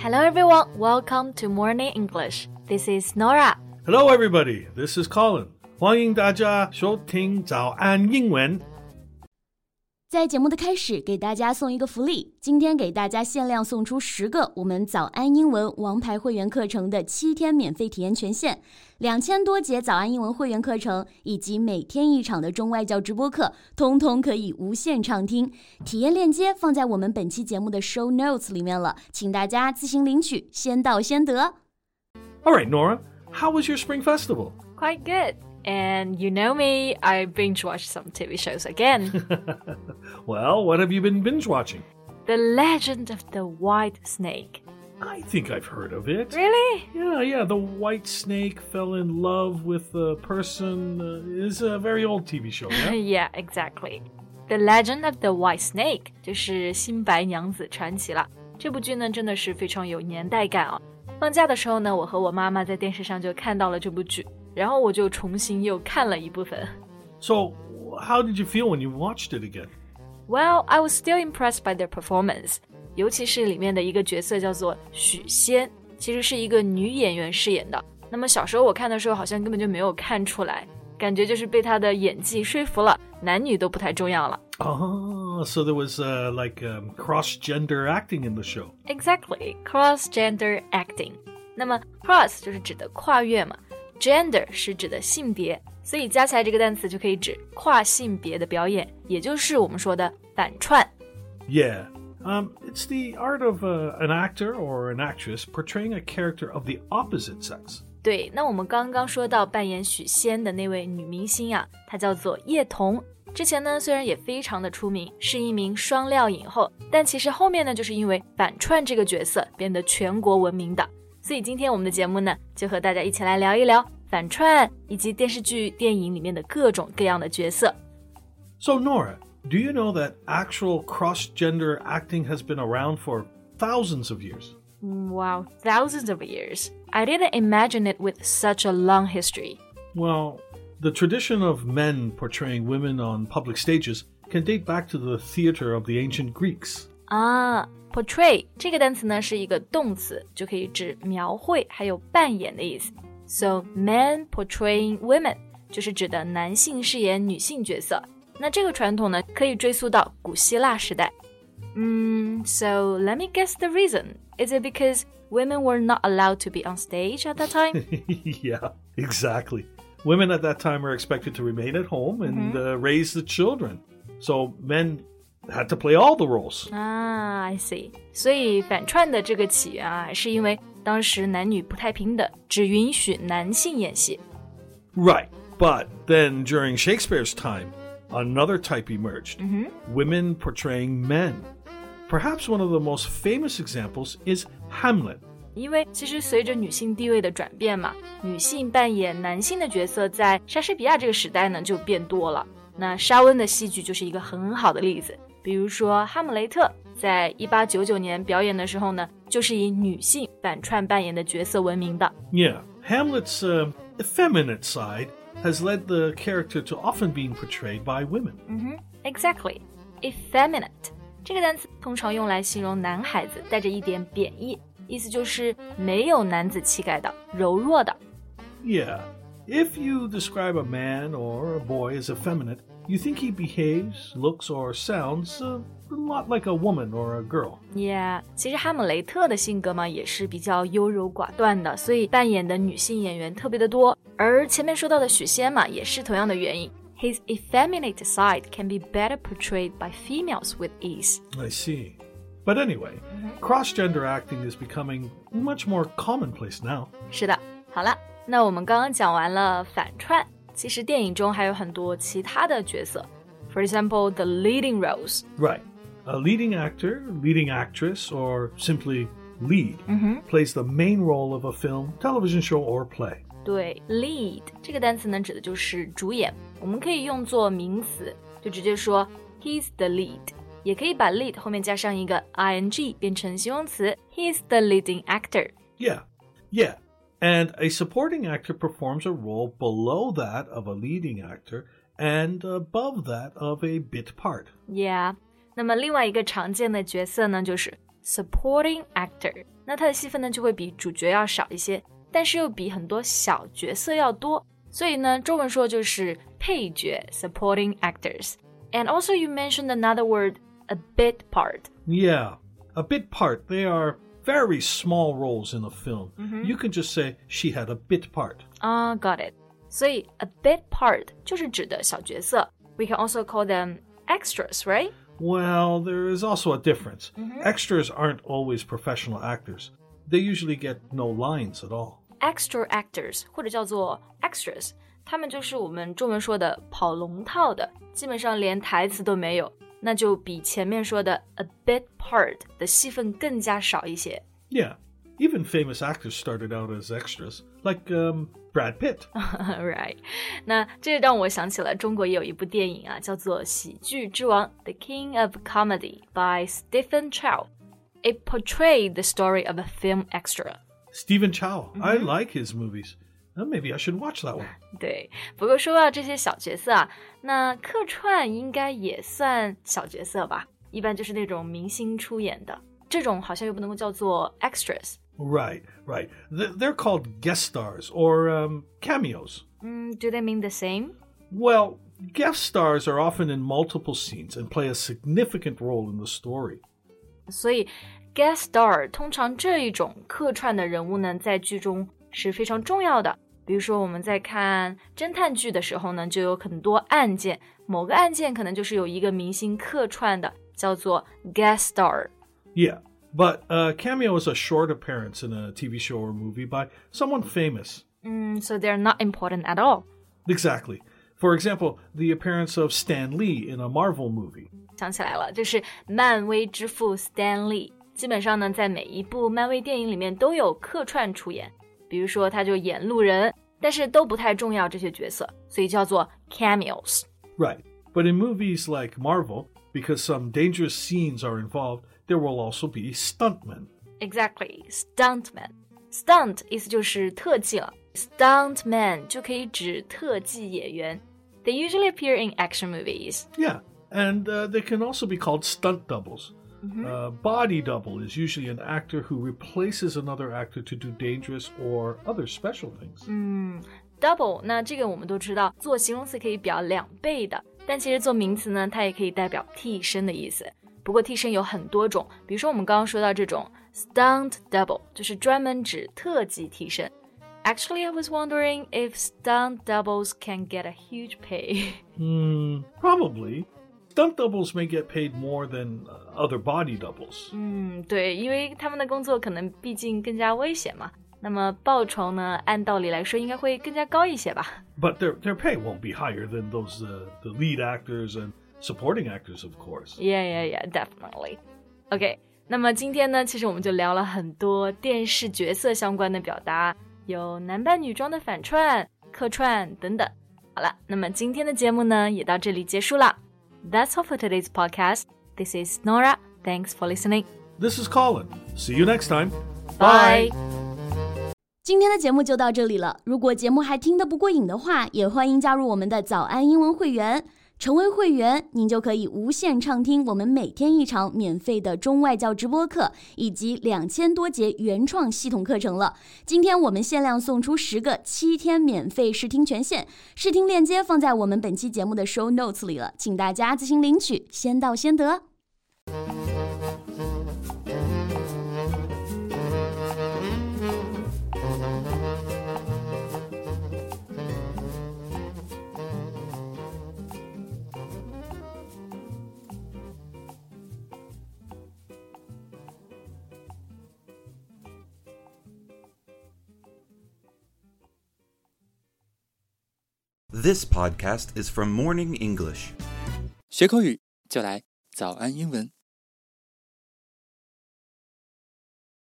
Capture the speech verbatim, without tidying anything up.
Hello everyone, welcome to Morning English. This is Nora. Hello everybody, this is Colin. 欢迎大家收听早安英文。 在节目的开始，给大家送一个福利。今天给大家限量送出十个我们早安英文王牌会员课程的七天免费体验权限，两千多节早安英文会员课程以及每天一场的中外教直播课，通通可以无限畅听。体验链接放在我们本期节目的 show notes 里面了，请大家自行领取，先到先得。 All right, Nora, how was your spring festival? Quite good.And you know me, I binge-watched some T V shows again. Well, what have you been binge-watching? The Legend of the White Snake. I think I've heard of it. Really? Yeah, yeah, the white snake fell in love with a person. Uh, is a very old T V show, yeah? Yeah, exactly. The Legend of the White Snake 就是新白娘子传奇了。这部剧呢，真的是非常有年代感啊。放假的时候呢，我和我妈妈在电视上就看到了这部剧。然后我就重新又看了一部分。 So, how did you feel when you watched it again? Well, I was still impressed by their performance. 尤其是里面的一个角色叫做许仙，其实是一个女演员饰演的。那么小时候我看的时候好像根本就没有看出来，感觉就是被她的演技说服了，男女都不太重要了。 Oh, so there was uh, like um, cross-gender acting in the show. Exactly, cross-gender acting. 那么 cross 就是指的跨越嘛。Gender 是指的性别，所以加起来这个单词就可以指跨性别的表演，也就是我们说的反串。 Yeah, um, it's the art of uh, an actor or an actress portraying a character of the opposite sex. 对，那我们刚刚说到扮演许仙的那位女明星啊，她叫做叶童。之前呢，虽然也非常的出名，是一名双料影后，但其实后面呢，就是因为反串这个角色变得全国闻名的。所以今天我们的节目呢，就和大家一起来聊一聊反串以及电视剧、电影里面的各种各样的角色。 So Nora, do you know that actual cross-gender acting has been around for thousands of years? Wow, thousands of years. I didn't imagine it with such a long history. Well, the tradition of men portraying women on public stages can date back to the theater of the ancient Greeks. 啊，portray 这个单词呢是一个动词，就可以指描绘还有扮演的意思。So men portraying women 就是指的男性饰演女性角色。那这个传统呢可以追溯到古希腊时代。嗯 So let me guess the reason. Is it because women were not allowed to be on stage at that time? Yeah, exactly. Women at that time were expected to remain at home and mm-hmm. uh, raise the children. So men had to play all the roles. Ah, I see. 所以反串的这个起源啊，是因为当时男女不太平等，只允许男性演戏。 Right, but then during Shakespeare's time, another type emerged. Mm-hmm. Women portraying men. Perhaps one of the most famous examples is Hamlet. 因为其实随着女性地位的转变嘛，女性扮演男性的角色在莎士比亚这个时代呢就变多了。那莎温的戏剧就是一个很好的例子。比如说哈姆雷特在一八九九年表演的时候呢，就是以女性反串扮演的角色闻名的。 Yeah, Hamlet's uh, effeminate side has led the character to often being portrayed by women. Mm-hmm, exactly. Effeminate 这个单词通常用来形容男孩子，带着一点贬义，意思就是没有男子气概的，柔弱的。 Yeah, if you describe a man or a boy as effeminate, you think he behaves, looks, or sounds a lot like a woman or a girl. Yeah, 其实哈姆雷特的性格嘛，也是比较优柔寡断的，所以扮演的女性演员特别的多。而前面说到的许仙嘛，也是同样的原因。His effeminate side can be better portrayed by females with ease. I see. But anyway, mm-hmm. cross-gender acting is becoming much more commonplace now. 是的，好了，那我们刚刚讲完了反串。其实电影中还有很多其他的角色 For example, the leading roles. Right. A leading actor, leading actress, or simply lead mm-hmm. plays the main role of a film, television show, or play. 对 lead 这个单词呢指的就是主演，我们可以用作名词，就直接说 He's the lead， 也可以把 lead 后面加上一个 ing 变成形容词 He's the leading actor. Yeah, yeah.And a supporting actor performs a role below that of a leading actor and above that of a bit part. Yeah. 那么另外一个常见的角色呢，就是 supporting actor， 那他的戏份呢就会比主角要少一些，但是又比很多小角色要多，所以呢中文说就是配角 supporting actors。And also you mentioned another word, a bit part. Yeah, a bit part. They are very small roles in a film. Mm-hmm. You can just say she had a bit part. Ah, got it. 所以 a bit part 就是指的小角色。We can also call them extras, right? Well, there is also a difference. Mm-hmm. Extras aren't always professional actors. They usually get no lines at all. Extra actors 或者叫做 extras， 他们就是我们中文说的跑龙套的，基本上连台词都没有，那就比前面说的 a bit part 的戏份更加少一些。 Yeah, even famous actors started out as extras, like um, Brad Pitt. Right. 那这让我想起了中国也有一部电影啊，叫做《喜剧之王》The King of Comedy by Stephen Chow. It portrayed the story of a film extra. Stephen Chow. Mm-hmm. I like his movies. Well, maybe I should watch that one. 对，不过说到这些小角色啊，那客串应该也算小角色吧，一般就是那种明星出演的，这种好像又不能够叫做 extras。Right, right. They're called guest stars or um, cameos. Mm, do they mean the same? Well, guest stars are often in multiple scenes and play a significant role in the story. 所以 guest star 通常这一种客串的人物呢，在剧中是非常重要的。比如说我们在看侦探剧的时候呢，就有很多案件，某个案件可能就是有一个明星客串的，叫做 guest star. Yeah, but a cameo is a short appearance in a T V show or movie by someone famous. Mm, so they're not important at all. Exactly. For example, the appearance of Stan Lee in a Marvel movie. 想起来了，就是漫威之父 Stan Lee， 基本上呢，在每一部漫威电影里面都有客串出演。比如说他就演路人，但是都不太重要这些角色，所以叫做 cameos. Right. But in movies like Marvel, because some dangerous scenes are involved, there will also be stuntmen. Exactly, stuntmen. Stunt 意思就是特技了， stuntman 就可以指特技演员。They usually appear in action movies. Yeah, and uh, they can also be called stunt doubles.Mm-hmm. A body double is usually an actor who replaces another actor to do dangerous or other special things. 嗯 double 那这个我们都知道，做形容词可以表两倍的，但其实做名词呢，它也可以代表替身的意思。不过替身有很多种，比如说我们刚刚说到这种 stunt double 就是专门指特技替身。Actually, I was wondering if stunt doubles can get a huge pay. Hmm, probably.Stunt doubles may get paid more than other body doubles. 嗯，对，因为他们的工作可能毕竟更加危险嘛。那么报酬呢，按道理来说应该会更加高一些吧。 But their their pay won't be higher than those uh, the lead actors and supporting actors, of course. Yeah, yeah, yeah, definitely. Okay, 那么今天呢，其实我们就聊了很多电视角色相关的表达，有男扮女装的反串、客串等等。好了，那么今天的节目呢，也到这里结束了。That's all for today's podcast. This is Nora. Thanks for listening. This is Colin. See you next time. Bye. 今天的节目就到这里了。如果节目还听得不过瘾的话，也欢迎加入我们的早安英文会员。成为会员，您就可以无限畅听我们每天一场免费的中外教直播课，以及两千多节原创系统课程了。今天我们限量送出十个七天免费试听权限，试听链接放在我们本期节目的 show notes 里了，请大家自行领取，先到先得。 This podcast is from Morning English. 学口语就来早安英文。